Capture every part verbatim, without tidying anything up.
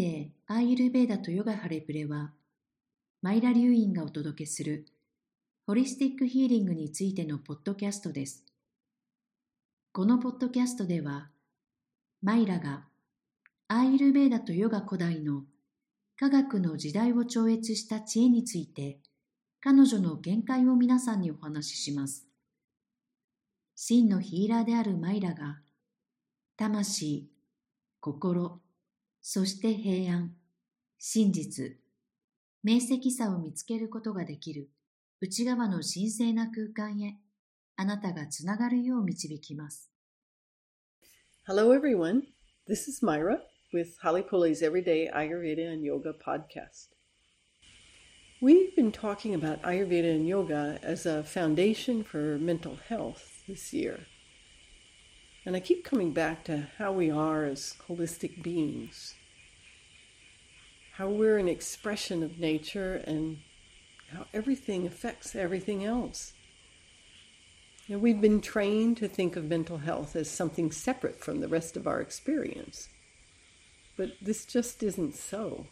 デーアーユルヴェーダとヨガハレプレは、マイラ流院がお届けするホリスティックヒーリングについてのポッドキャストです。このポッドキャストでは、マイラがアーユルヴェーダとヨガ古代の科学の時代を超越した知恵について、彼女の見解を皆さんにお話しします。真のヒーラーであるマイラが、魂、心、そして平安、真実、明晰さを見つけることができる内側の神聖な空間へ、あなたがつながるよう導きます。 Hello everyone, this is Myra with Holly Pulley's Everyday Ayurveda and Yoga podcast. We've been talking about Ayurveda and Yoga as a foundation for mental health this year. And I keep coming back to how we are as holistic beings, how we're an expression of nature and how everything affects everything else. You know, we've been trained to think of mental health as something separate from the rest of our experience. But this just isn't so.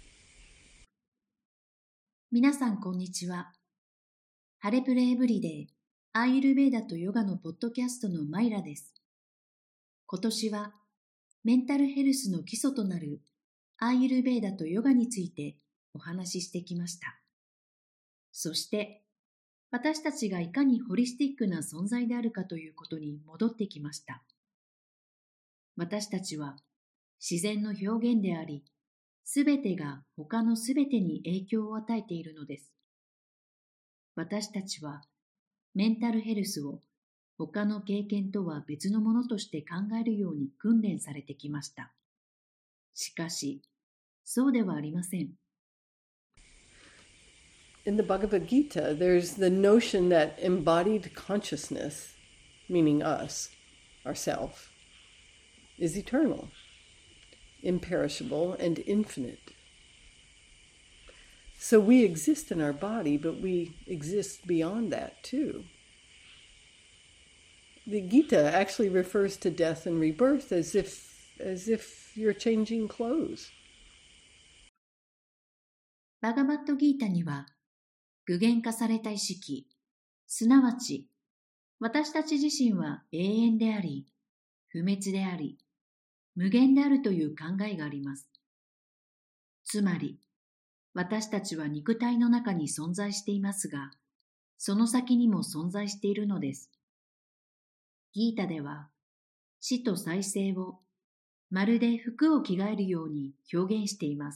皆さんこんにちは。ハレプレエブリデイアーユルヴェーダとヨガのポッドキャストのマイラです。今年はメンタルヘルスの基礎となるアーユルヴェーダとヨガについてお話ししてきました。そして私たちがいかにホリスティックな存在であるかということに戻ってきました。私たちは自然の表現であり、すべてが他のすべてに影響を与えているのです。私たちはメンタルヘルスを他の経験とは別のものとして考えるように訓練されてきました。しかし、そうではありません。 In the Bhagavad Gita, there's the notion that embodied consciousness, meaning us, ourself, is eternal, imperishable, and infinite. So we exist in our body, but we exist beyond that too. The Gita actually refers to death and rebirth as if, as if you're changing clothes. バガバットギータには、具現化された意識、すなわち、私たち自身は永遠であり、不滅であり、無限であるという考えがあります。つまり、私たちは肉体の中に存在していますが、その先にも存在しているのです。ギータでは、死と再生をまるで服を着替えるように表現しています。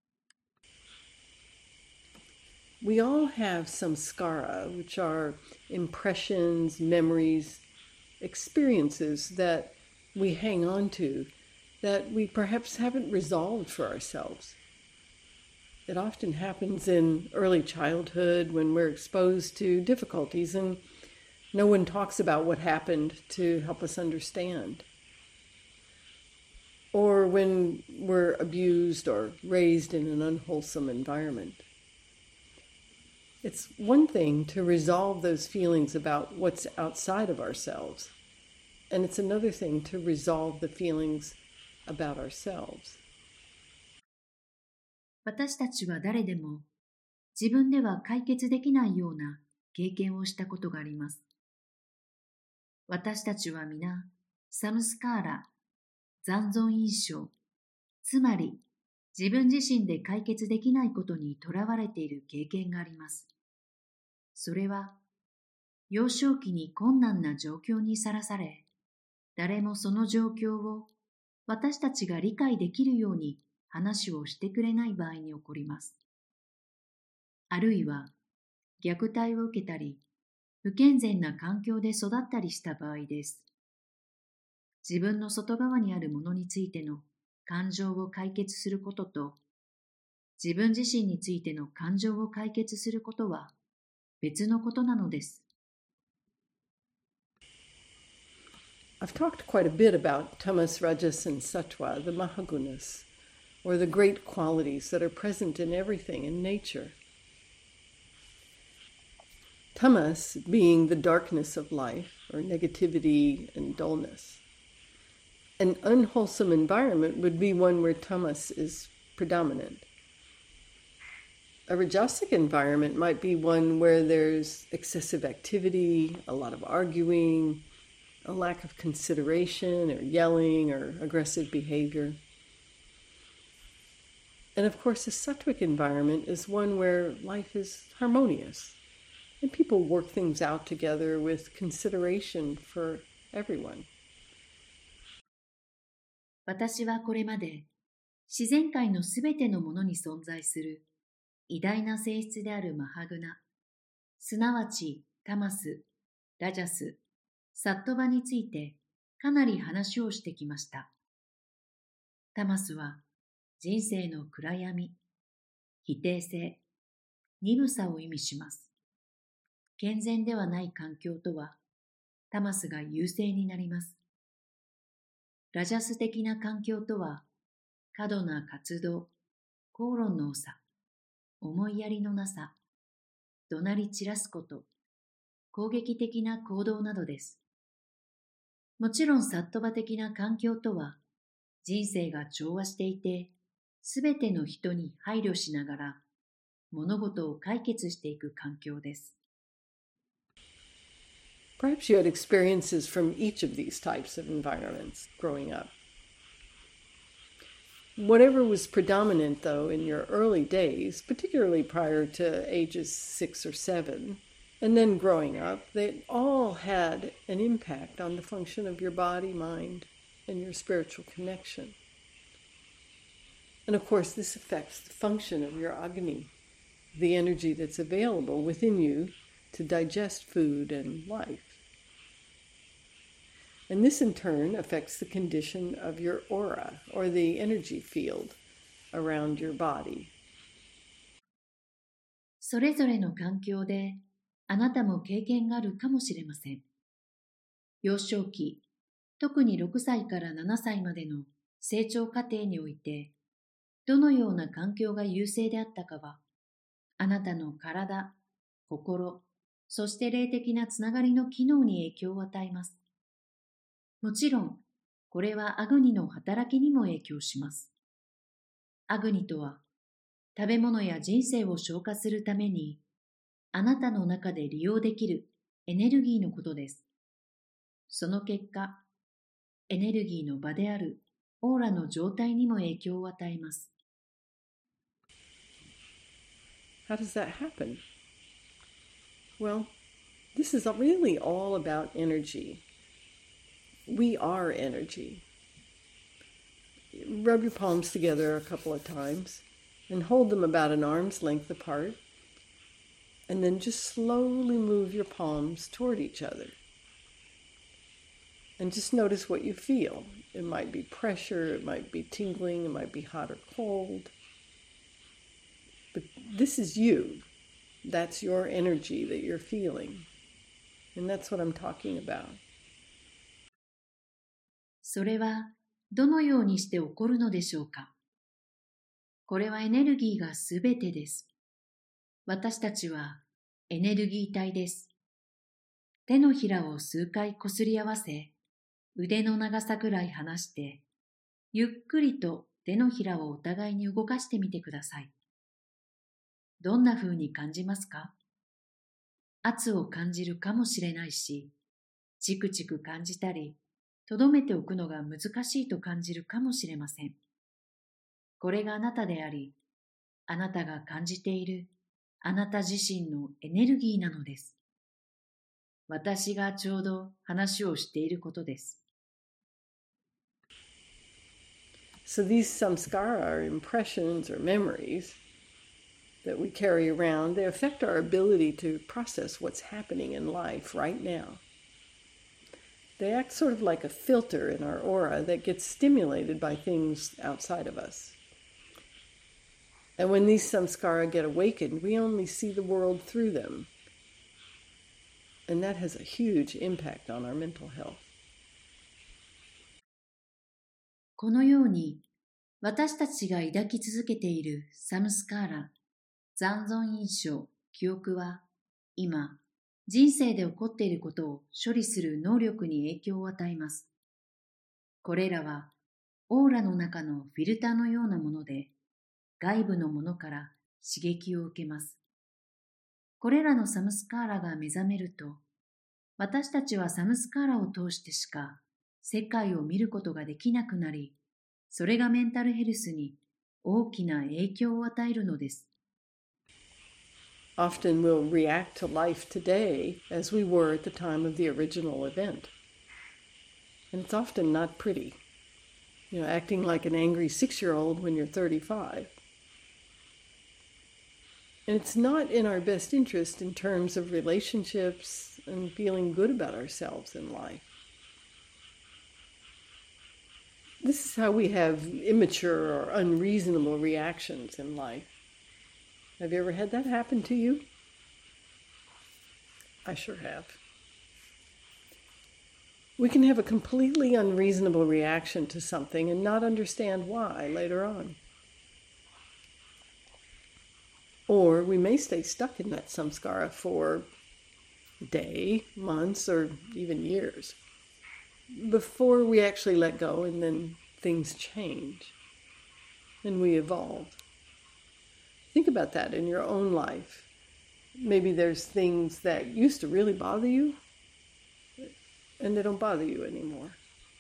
We all have some skara, which are impressions, memories, experiences that we hang on to, that we perhaps haven't resolved for ourselves. It often happens in early childhood when we're exposed to difficulties and no one talks about what happened to help us understand. Or when we're abused or raised in an unwholesome environment. It's one thing to resolve those feelings about what's outside of ourselves, and it's another thing to resolve the feelings about ourselves. 私たちは誰でも自分では解決できないような経験をしたことがあります。私たちは皆、サムスカーラ、残存印象、つまり自分自身で解決できないことにとらわれている経験があります。それは、幼少期に困難な状況にさらされ、誰もその状況を私たちが理解できるように話をしてくれない場合に起こります。あるいは、虐待を受けたり、不健全な環境で育ったりした場合です。自分の外側にあるものについての感情を解決することと、自分自身についての感情を解決することは別のことなのです。 I've talked quite a bit about tamas, rajas, and sattva, the mahagunas, or the great qualities that are present in everything in nature. Tamas being the darkness of life, or negativity and dullness. An unwholesome environment would be one where tamas is predominant. A rajasic environment might be one where there's excessive activity, a lot of arguing, a lack of consideration or yelling or aggressive behavior. And of course, a sattvic environment is one where life is harmonious and people work things out together with consideration for everyone. 私はこれまで自然界のすべてのものに存在する偉大な性質であるマハグナ、すなわちタマス、ラジャス、サットバについてかなり話をしてきました。タマスは人生の暗闇、否定性、鈍さを意味します。健全ではない環境とは、タマスが優勢になります。ラジャス的な環境とは、過度な活動、口論の多さ、思いやりのなさ、怒鳴り散らすこと、攻撃的な行動などです。もちろんサットバ的な環境とは、人生が調和していて、すべての人に配慮しながら、物事を解決していく環境です。 Perhaps you had experiences from each of these types of environments growing up. Whatever was predominant, though, in your early days, particularly prior to ages six or seven, and then growing up, they all had an impact on the function of your body, mind, and your spiritual connection. And of course, this affects the function of your agni, the energy that's available within you to digest food and life. And this in turn affects the condition of your aura, or the energy field around your body. それぞれの環境であなたも経験があるかもしれません。幼少期、特にろくさいからななさいまでの成長過程において、どのような環境が優勢であったかは、あなたの体、心、そして霊的なつながりの機能に影響を与えます。もちろん、これはアグニの働きにも影響します。アグニとは、食べ物や人生を消化するために、あなたの中で利用できるエネルギーのことです。その結果、エネルギーの場であるオーラの状態にも影響を与えます。 How does that happen? Well, this is really all about energy. We are energy. Rub your palms together a couple of times and hold them about an arm's length apart, and then just slowly move your palms toward each other. And just notice what you feel. It might be pressure, it might be tingling, it might be hot or cold. But this is you. That's your energy that you're feeling. And that's what I'm talking about. それはどのようにして起こるのでしょうか。これはエネルギーがすべてです。私たちはエネルギー体です。手のひらを数回こすり合わせ、腕の長さくらい離して、ゆっくりと手のひらをお互いに動かしてみてください。どんな風に感じますか？圧を感じるかもしれないし、チクチク感じたり、とどめておくのが難しいと感じるかもしれません。これがあなたであり、あなたが感じているあなた自身のエネルギーなのです。私がちょうど話をしていることです。 So these samskara are impressions or memories that we carry around. They affect our ability to process what's happening in life right now. They act sort of like a filter in our aura that gets stimulated by things outside of us. And when these samskara get awakened, we only see the world through them. And that has a huge impact on our mental health. このように、私たちが抱き続けているサムスカーラ、残存印象、記憶は、今、人生で起こっていることを処理する能力に影響を与えます。 これらはオーラの中のフィルターのようなもので、外部のものから刺激を受けます。これらのサムスカーラが目覚めると、私たちはサムスカーラを通してしか世界を見ることができなくなり、それがメンタルヘルスに大きな影響を与えるのです。 Often we'll react to life today as we were at the time of the original event. And it's often not pretty. You know, acting like an angry six-year-old when you're thirty-five. And it's not in our best interest in terms of relationships and feeling good about ourselves in life. This is how we have immature or unreasonable reactions in life. Have you ever had that happen to you? I sure have. We can have a completely unreasonable reaction to something and not understand why later on. Or we may stay stuck in that samskara for a day, months, or even years before we actually let go, and then things change and we evolve. Think about that in your own life. Maybe there's things that used to really bother you, and they don't bother you anymore.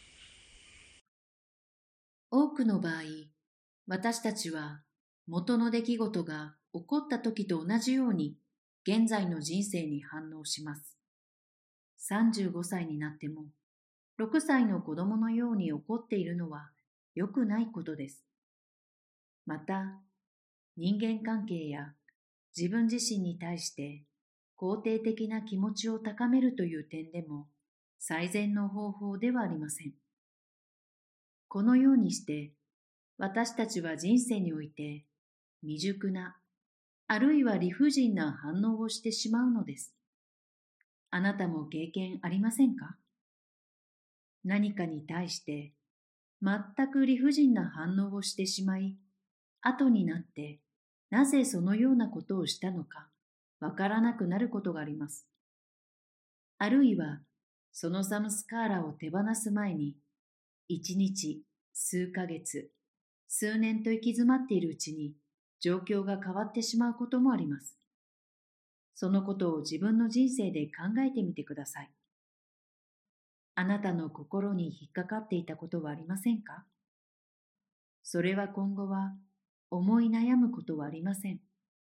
多くの場合、私たちは元の出来事が起こった時と同じように現在の人生に反応します。さんじゅうごさいになってもろくさいの子供のように怒っているのは良くないことです。また、人間関係や自分自身に対して肯定的な気持ちを高めるという点でも最善の方法ではありません。このようにして私たちは人生において未熟なあるいは理不尽な反応をしてしまうのです。あなたも経験ありませんか？何かに対して全く理不尽な反応をしてしまい、後になってなぜそのようなことをしたのかわからなくなることがあります。あるいはそのサムスカーラを手放す前に一日、数ヶ月、数年と行き詰まっているうちに状況が変わってしまうこともあります。そのことを自分の人生で考えてみてください。あなたの心に引っかかっていたことはありませんか？それは今後は思い悩むことはありません。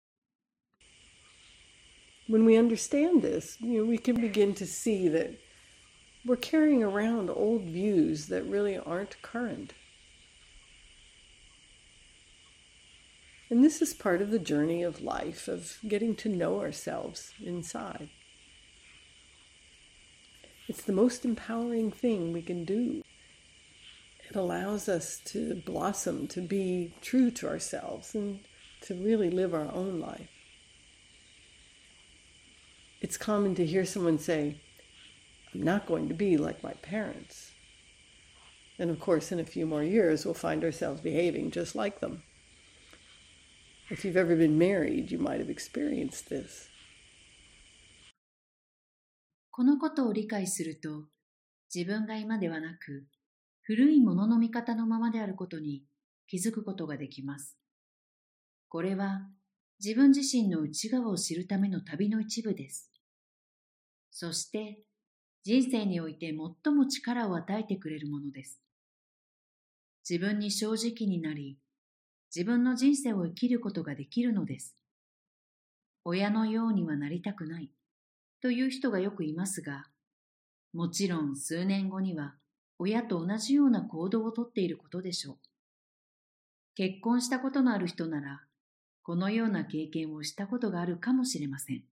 When we understand this, you know, we can begin to see that we're carrying around old views that really aren't current. And this is part of the journey of life, of getting to know ourselves inside. It's the most empowering thing we can do. It allows us to blossom, to be true to ourselves, and to really live our own life. It's common to hear someone say, I'm not going to be like my parents. And of course, in a few more years, we'll find ourselves behaving just like them. If you've ever been married, you might have experienced this. このことを理解すると、自分が今ではなく、古いものの見方のままであることに気づくことができます。これは自分自身の内側を知るための旅の一部です。そして人生において最も力を与えてくれるものです。自分に正直になり、自分の人生を生きることができるのです。親のようにはなりたくないという人がよくいますが、もちろん数年後には親と同じような行動をとっていることでしょう。結婚したことのある人なら、このような経験をしたことがあるかもしれません。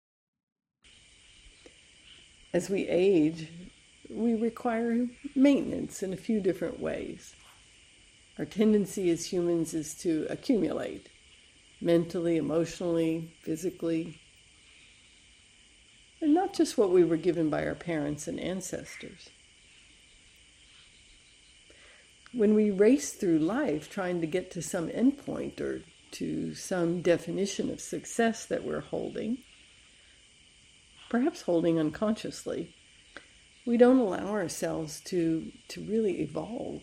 As we age, we require maintenance in a few different ways. Our tendency as humans is to accumulate, mentally, emotionally, physically, and not just what we were given by our parents and ancestors. When we race through life trying to get to some endpoint or to some definition of success that we're holding, perhaps holding unconsciously, we don't allow ourselves to, to really evolve.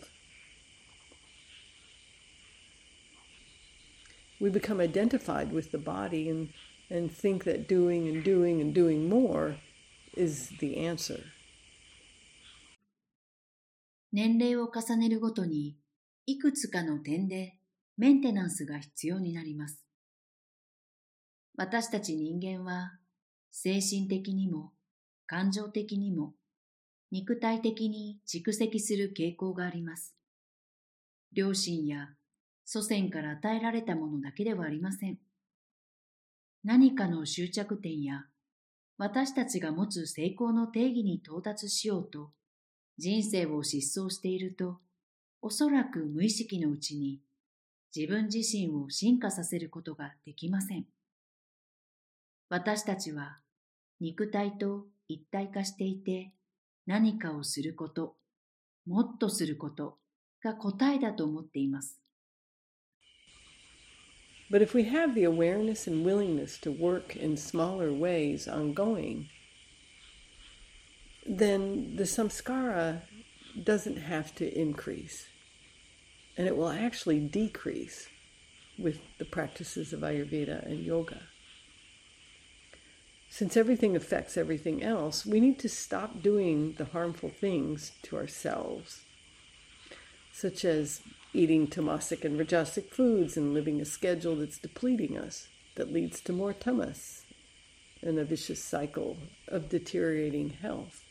We become identified with the body and, and think that doing and doing and doing more is the answer. 年齢を重ねるごとに、いくつかの点でメンテナンスが必要になります。私たち人間は、精神的にも、感情的にも、肉体的に蓄積する傾向があります。両親や祖先から与えられたものだけではありません。何かの終着点や、私たちが持つ成功の定義に到達しようと、人生を疾走していると、おそらく無意識のうちに自分自身を進化させることができません。私たちは肉体と一体化していて、何かをすること、もっとすることが答えだと思っています。 But if we have the awareness and willingness to work in smaller ways ongoing, then the samskara doesn't have to increase. And it will actually decrease with the practices of Ayurveda and yoga. Since everything affects everything else, we need to stop doing the harmful things to ourselves, such as eating tamasic and rajasic foods and living a schedule that's depleting us, that leads to more tamas and a vicious cycle of deteriorating health.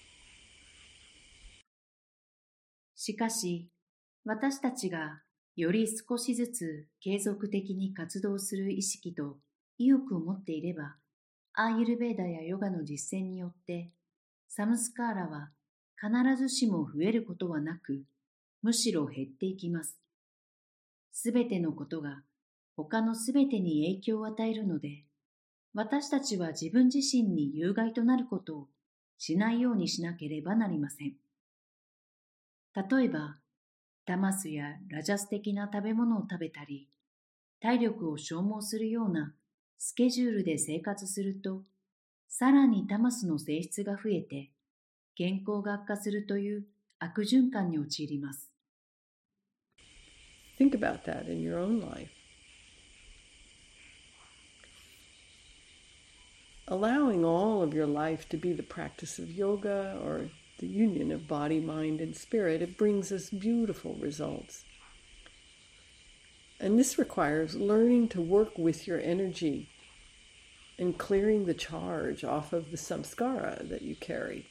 しかし、私たちがより少しずつ継続的に活動する意識と意欲を持っていれば、アーユルベーダやヨガの実践によって、サムスカーラは必ずしも増えることはなく、むしろ減っていきます。すべてのことが他のすべてに影響を与えるので、私たちは自分自身に有害となることをしないようにしなければなりません。例えば、タマスやラジャス的な食べ物を食べたり、体力を消耗するようなスケジュールで生活すると、さらにタマスの性質が増えて、健康が悪化するという悪循環に陥ります。 Think about that in your own life. Allowing all of your life to be the practice of yoga or the union of body, mind, and spirit, it brings us beautiful results. And this requires learning to work with your energy and clearing the charge off of the samskara that you carry.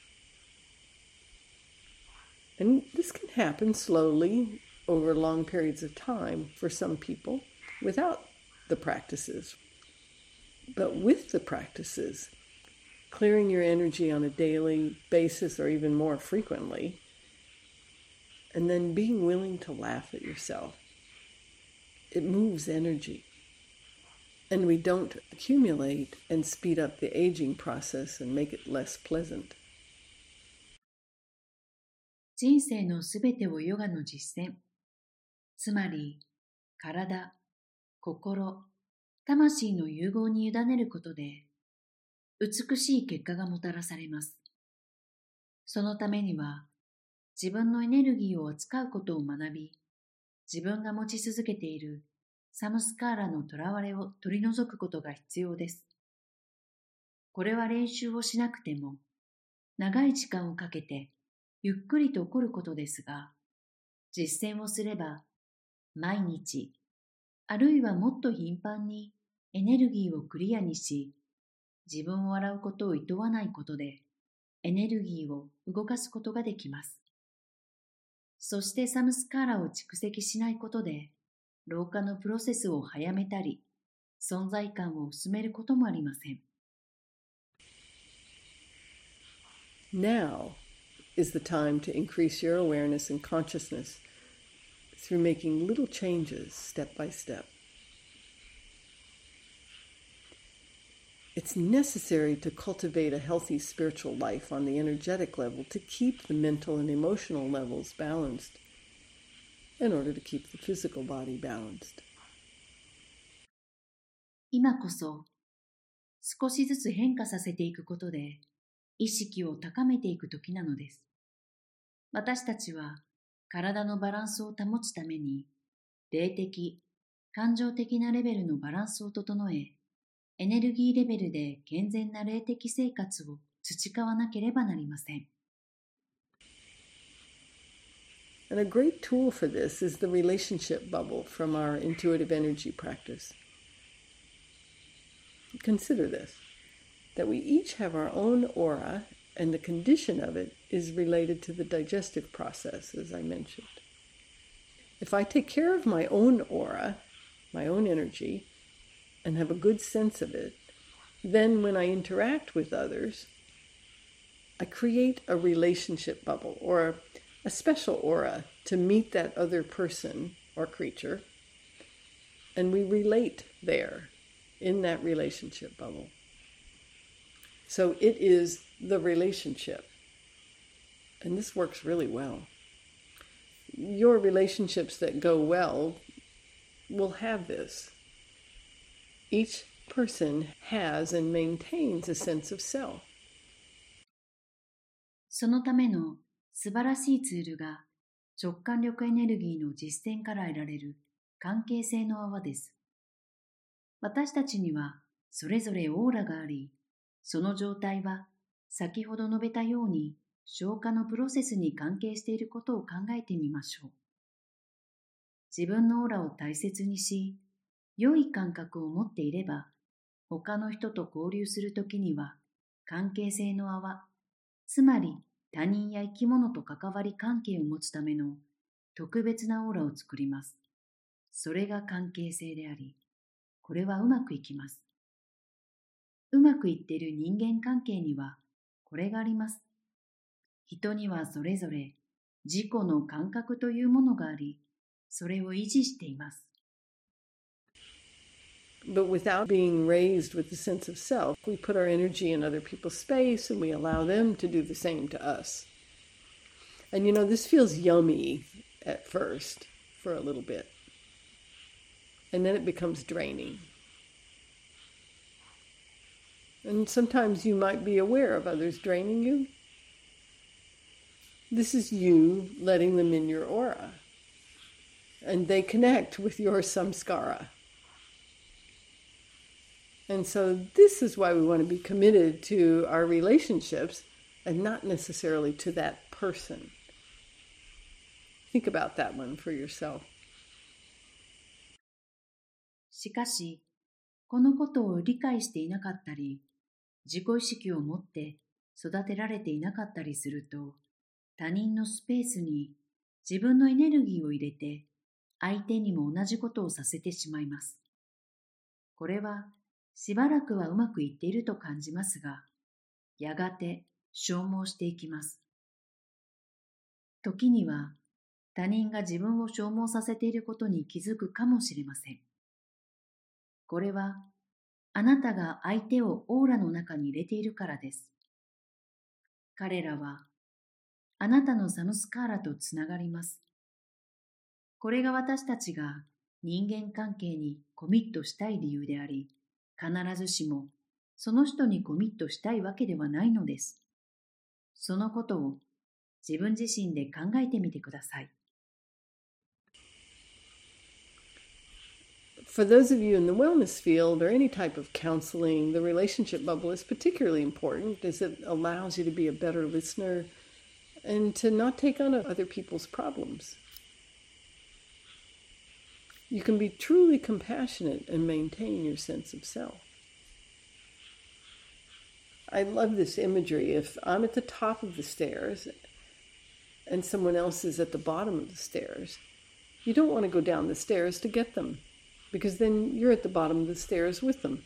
And this can happen slowly over long periods of time for some people without the practices. But with the practices, clearing your energy on a daily basis or even more frequently, and then being willing to laugh at yourself, it moves energy. And we don't accumulate and speed up the aging process and make it less pleasant. 人生のすべてをヨガの実践、つまり体、心、魂の融合に委ねることで、美しい結果がもたらされます。そのためには、自分のエネルギーを扱うことを学び、自分が持ち続けているサムスカーラのとらわれを取り除くことが必要です。これは練習をしなくても、長い時間をかけてゆっくりと起こることですが、実践をすれば、毎日、あるいはもっと頻繁にエネルギーをクリアにし、自分を洗うことを厭わないことで、エネルギーを動かすことができます。そしてサムスカーラを蓄積しないことで、老化のプロセスを早めたり、存在感を薄めることもありません。 Now is the time to increase your awareness and consciousness through making little changes step by step. It's necessary to cultivate a healthy spiritual life on the energetic level to keep the mental and emotional levels balanced in order to keep the physical body balanced. 今こそ少しずつ変化させていくことで、 意識を高めていくときなのです。私たちは体のバランスを保つために、霊的、感情的なレベルのバランスを整え、エネルギーレベルで健全な霊的生活を培わなければなりません。 And a great tool for this is the relationship bubble from our intuitive energy practice. Consider this, that we each have our own aura, and the condition of it is related to the digestive process, as I mentioned. If I take care of my own aura, my own energy, and have a good sense of it, then when I interact with others, I create a relationship bubble or a special aura to meet that other person or creature, and we relate there in that relationship bubble. So it is the relationship, and this works really well. Your relationships that go well will have this. Each person has and maintains a sense of self. そのための素晴らしいツールが直感力エネルギーの実践から得られる関係性の泡です。私たちにはそれぞれオーラがあり、その状態は先ほど述べたように消化のプロセスに関係していることを考えてみましょう。自分のオーラを大切にし、良い感覚を持っていれば、他の人と交流するときには関係性の泡、つまり他人や生き物と関わり関係を持つための特別なオーラを作ります。それが関係性であり、これはうまくいきます。うまくいっている人間関係にはこれがあります。人にはそれぞれ自己の感覚というものがあり、それを維持しています。 But without being raised with the sense of self, we put our energy in other people's space and we allow them to do the same to us. And you know, this feels yummy at first for a little bit. And then it becomes draining. And sometimes you might be aware of others draining you. This is you letting them in your aura. And they connect with your samskara. And so this is why we want to be committed to our relationships and not necessarily to that person. Think about that one for yourself. しかし、このことを理解していなかったり、自己意識を持って育てられていなかったりすると、他人のスペースに自分のエネルギーを入れて、相手にも同じことをさせてしまいます。これは、しばらくはうまくいっていると感じますが、やがて消耗していきます。時には他人が自分を消耗させていることに気づくかもしれません。これはあなたが相手をオーラの中に入れているからです。彼らはあなたのサムスカーラとつながります。これが私たちが人間関係にコミットしたい理由であり、必ずしもその人にコミットしたいわけではないのです。そのことを自分自身で考えてみてください。 For those of you in the wellness field or any type of counseling, the relationship bubble is particularly important as it allows you to be a better listener and to not take on other people's problems. You can be truly compassionate and maintain your sense of self. I love this imagery. If I'm at the top of the stairs and someone else is at the bottom of the stairs, you don't want to go down the stairs to get them, because then you're at the bottom of the stairs with them.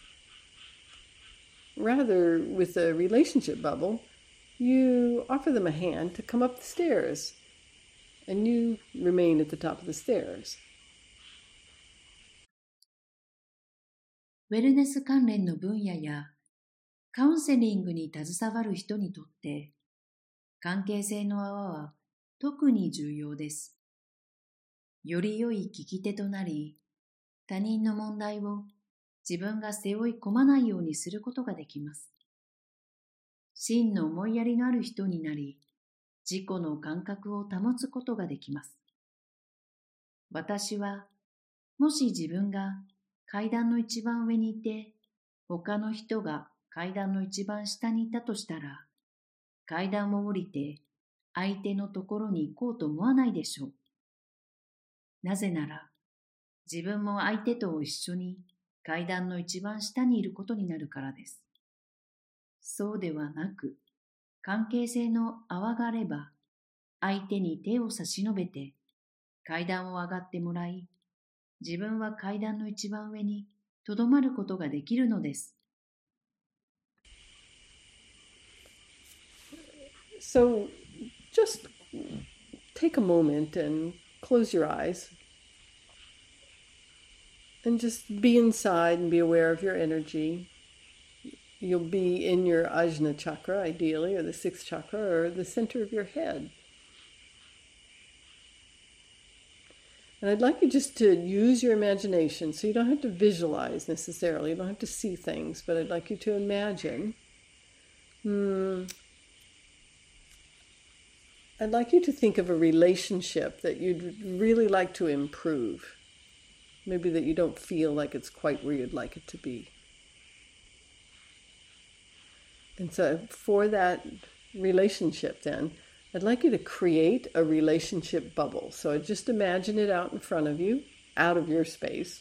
Rather, with a relationship bubble, you offer them a hand to come up the stairs, and you remain at the top of the stairs. ウェルネス関連の分野やカウンセリングに携わる人にとって関係性の泡は特に重要です。より良い聞き手となり、他人の問題を自分が背負い込まないようにすることができます。 真の思いやりのある人になり、自己の感覚を保つことができます。私は、もし自分が階段の一番上にいて、他の人が階段の一番下にいたとしたら、階段を降りて相手のところに行こうと思わないでしょう。なぜなら、自分も相手と一緒に階段の一番下にいることになるからです。そうではなく、関係性の泡があれば、相手に手を差し伸べて階段を上がってもらい、自分は階段の一番上にとどまることができるのです。 So just take a moment and close your eyes and just be inside and be aware of your energy. You'll be in your Ajna chakra, ideally, or the sixth chakra, or the center of your head. And I'd like you just to use your imagination, so you don't have to visualize necessarily, you don't have to see things, but I'd like you to imagine. Hmm, I'd like you to think of a relationship that you'd really like to improve. Maybe that you don't feel like it's quite where you'd like it to be. And so for that relationship then, I'd like you to create a relationship bubble. So just imagine it out in front of you, out of your space.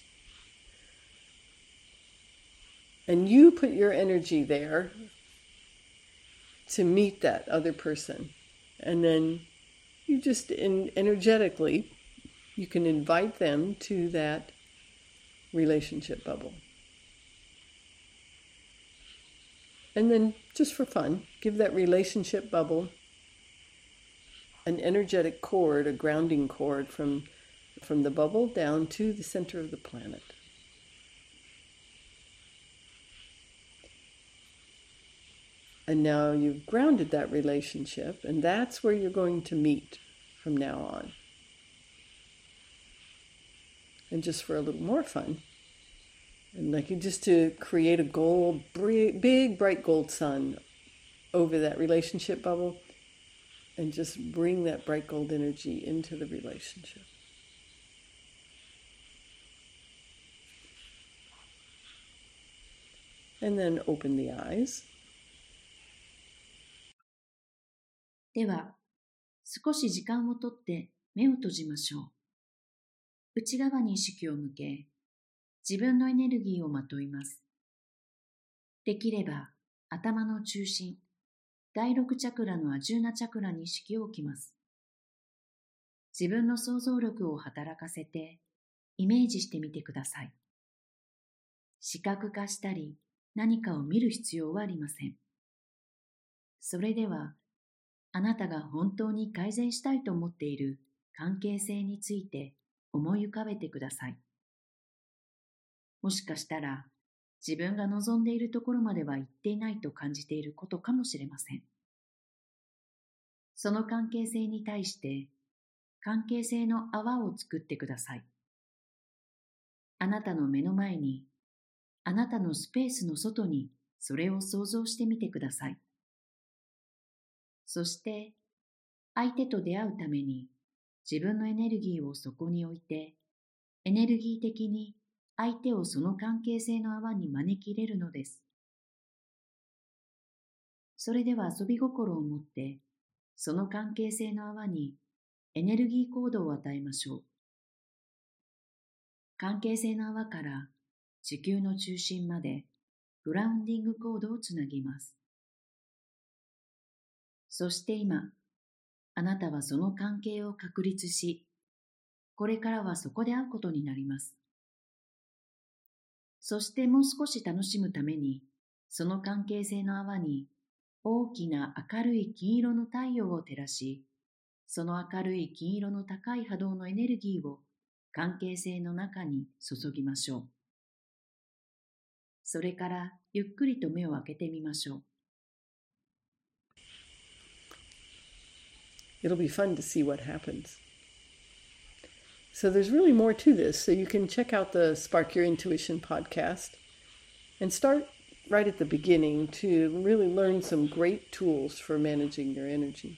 And you put your energy there to meet that other person. And then you just in, energetically, you can invite them to that relationship bubble. And then, just for fun, give that relationship bubble an energetic cord, a grounding cord from, from the bubble down to the center of the planet. And now you've grounded that relationship, and that's where you're going to meet from now on. And just for a little more fun, and like you just to create a gold, big, bright gold sun over that relationship bubble, and just bring that bright gold energy into the relationship. And then open the eyes. では、少し時間をとって目を閉じましょう。内側に意識を向け、自分のエネルギーをまといます。できれば、頭の中心、だいろくチャクラのアジューナチャクラに意識を置きます。自分の想像力を働かせて、イメージしてみてください。視覚化したり、何かを見る必要はありません。それでは、あなたが本当に改善したいと思っている関係性について思い浮かべてください。もしかしたら自分が望んでいるところまでは行っていないと感じていることかもしれません。その関係性に対して関係性の泡を作ってください。あなたの目の前に、あなたのスペースの外にそれを想像してみてください。そして、相手と出会うために自分のエネルギーをそこに置いて、エネルギー的に相手をその関係性の泡に招き入れるのです。それでは遊び心を持って、その関係性の泡にエネルギーコードを与えましょう。関係性の泡から地球の中心までグラウンディングコードをつなぎます。そして今、あなたはその関係を確立し、これからはそこで会うことになります。そしてもう少し楽しむために、その関係性の泡に大きな明るい金色の太陽を照らし、その明るい金色の高い波動のエネルギーを関係性の中に注ぎましょう。それからゆっくりと目を開けてみましょう。 It'll be fun to see what happens. So there's really more to this. So you can check out the Spark Your Intuition podcast and start right at the beginning to really learn some great tools for managing your energy.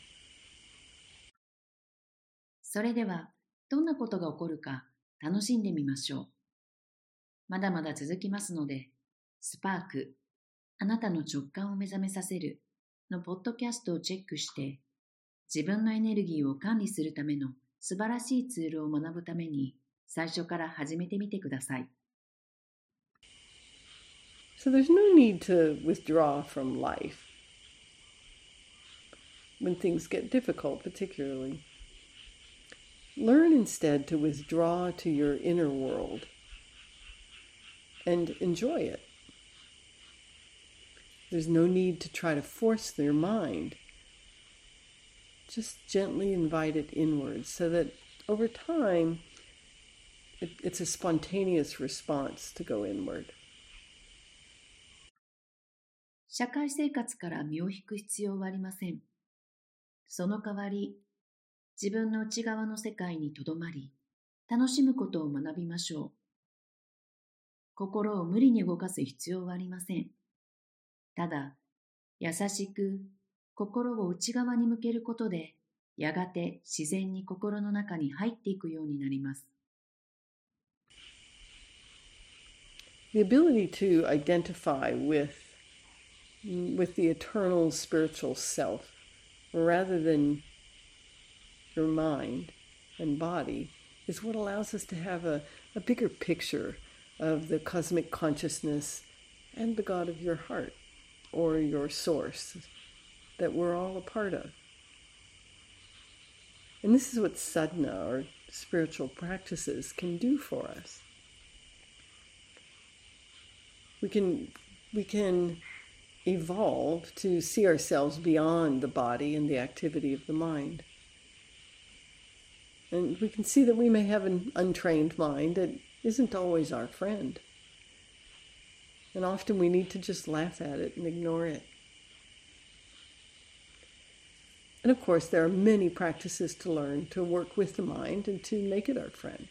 それでは、どんなことが起こるか楽しんでみましょう。まだまだ続きますので、スパーク、あなたの直感を目覚めさせるのポッドキャストをチェックして、自分のエネルギーを管理するための素晴らしいツールを学ぶために、最初から始めてみてください。 So there's no need to withdraw from life when things get difficult, particularly. Learn instead to withdraw to your inner world and enjoy it. There's no need to try to force your mind. Just gently invite it inwards so that over time it, it's a spontaneous response to go inward. 社会生活から身を引く必要はありません。その代わり、自分の内側の世界にとどまり、楽しむことを学びましょう。心を無理に動かす必要はありません。ただ、優しく心を内側に向けることで、やがて自然に心の中に入っていくようになります。 The ability to identify with, with the eternal spiritual self, rather than your mind and body, is what allows us to have a, a bigger picture of the cosmic consciousness and the God of your heart, or your source, that we're all a part of. And this is what sadhana, or spiritual practices, can do for us. We can, we can evolve to see ourselves beyond the body and the activity of the mind. And we can see that we may have an untrained mind that isn't always our friend. And often we need to just laugh at it and ignore it. And of course, there are many practices to learn to work with the mind and to make it our friend.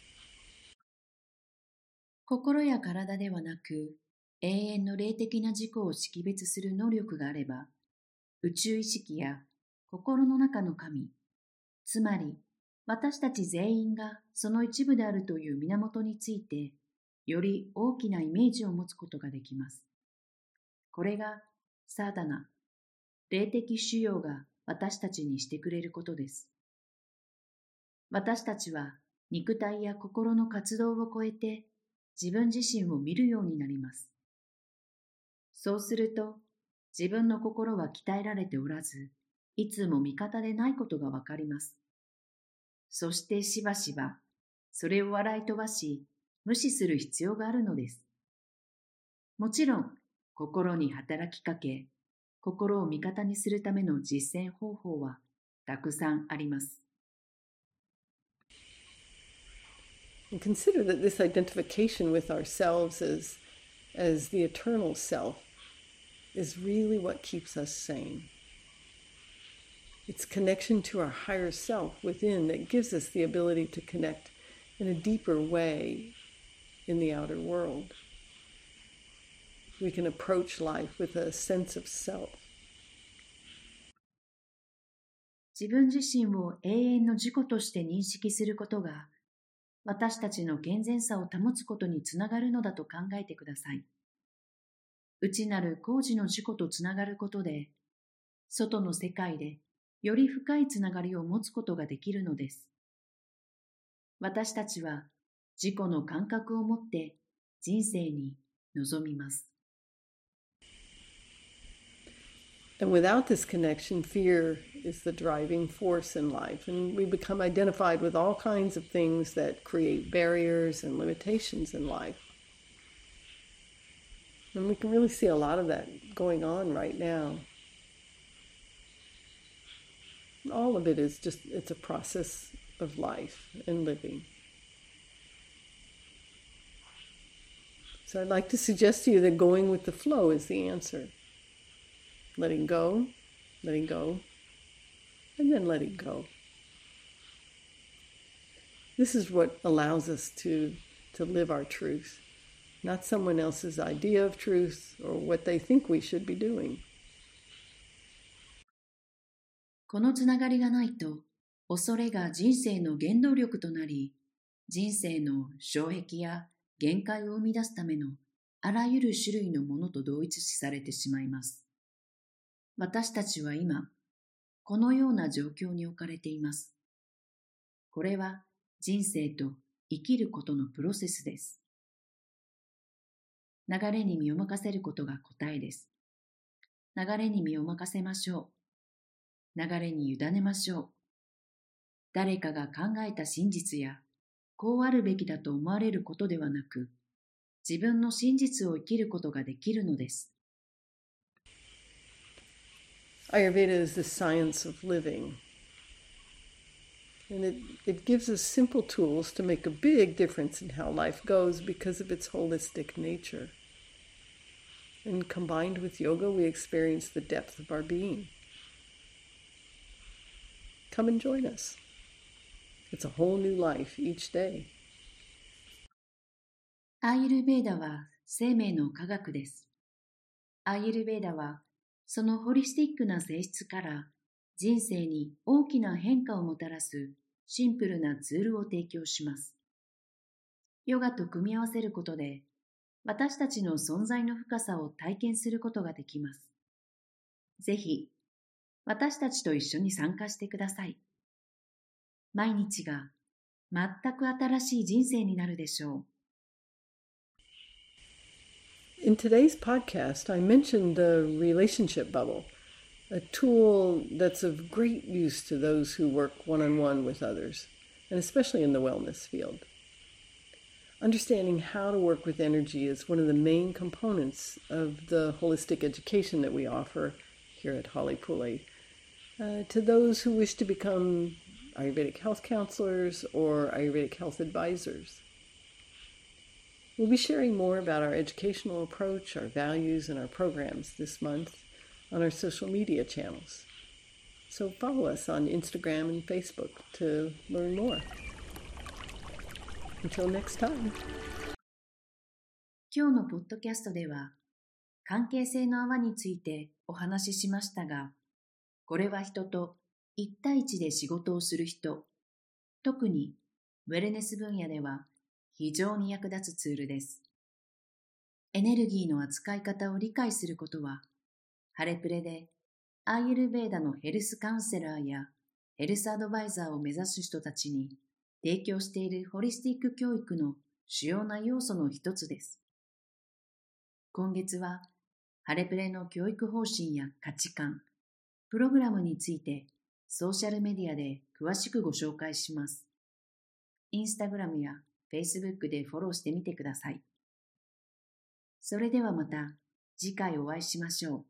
心や体ではなく、永遠の霊的な自己を識別する能力があれば、宇宙意識や心の中の神、つまり私たち全員がその一部であるという源について、より大きなイメージを持つことができます。これがサーダナ、霊的修養が私たちにしてくれることです。私たちは肉体や心の活動を超えて自分自身を見るようになります。そうすると自分の心は鍛えられておらず、いつも味方でないことがわかります。そしてしばしばそれを笑い飛ばし、無視する必要があるのです。もちろん、心に働きかけ、心を味方にするための実践方法はたくさんあります。 And consider that this identification with ourselves as, as the eternal self is really what keeps us sane. It's connection to our higher self within that gives us the ability to connect in a deeper way in the outer world. We can approach life with a sense of self. 自分自身を永遠の自己として認識することが、私たちの健全さを保つことにつながるのだと考えてください。内なる高次の自己とつながることで、外の世界でより深いつながりを持つことができるのです。私たちは自己の感覚を持って人生に臨みます。 And without this connection, fear is the driving force in life, and we become identified with all kinds of things that create barriers and limitations in life. And we can really see a lot of that going on right now. All of it is just, it's a process of life and living. So I'd like to suggest to you that going with the flow is the answer. Letting go, letting go, and then letting go. This is what allows us to, to live our truth not someone else's idea of truth or what they think we should be doing. このつながりがないと、恐れが人生の原動力となり、人生の障壁や限界を生み出すためのあらゆる種類のものと同一視されてしまいます。私たちは今、このような状況に置かれています。これは人生と生きることのプロセスです。流れに身を任せることが答えです。流れに身を任せましょう。流れに委ねましょう。誰かが考えた真実や、こうあるべきだと思われることではなく、自分の真実を生きることができるのです。 Ayurveda is the science of living. And it, it gives us simple tools to make a big difference in how life goes because of its holistic nature. And combined with yoga, we experience the depth of our being. Come and join us. It's a whole new life each day. アーユルヴェーダは生命の科学です。アーユルヴェーダはそのホリスティックな性質から人生に大きな変化をもたらすシンプルなツールを提供します。ヨガと組み合わせることで私たちの存在の深さを体験することができます。ぜひ私たちと一緒に参加してください。毎日が全く新しい人生になるでしょう。 In today's podcast, I mentioned the relationship bubble, a tool that's of great use to those who work one-on-one with others, and especially in the wellness field. Understanding how to work with energy is one of the main components of the holistic education that we offer here at Holly Pule uh, to those who wish to become Ayurvedic health counselors or Ayurvedic health advisors. We'll be sharing more about our educational approach, our values, and our programs this month on our social media channels. So follow us on Instagram and Facebook to learn more. Until next time. 今日のポッドキャストでは、関係性の泡についてお話ししましたが、これは人と一対一で仕事をする人、特にウェルネス分野では非常に役立つツールです。エネルギーの扱い方を理解することは、ハレプレでアーユルヴェーダのヘルスカウンセラーやヘルスアドバイザーを目指す人たちに提供しているホリスティック教育の主要な要素の一つです。今月はハレプレの教育方針や価値観、プログラムについてソーシャルメディアで詳しくご紹介します。インスタグラムやFacebook でフォローしてみてください。それではまた次回お会いしましょう。